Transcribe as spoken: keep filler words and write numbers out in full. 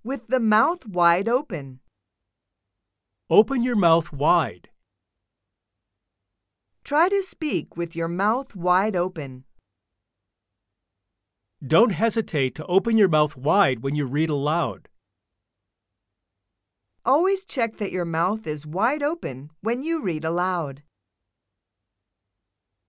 With the mouth wide open. Open your mouth wide. Try to speak with your mouth wide open. Don't hesitate to open your mouth wide when you read aloud. Always check that your mouth is wide open when you read aloud.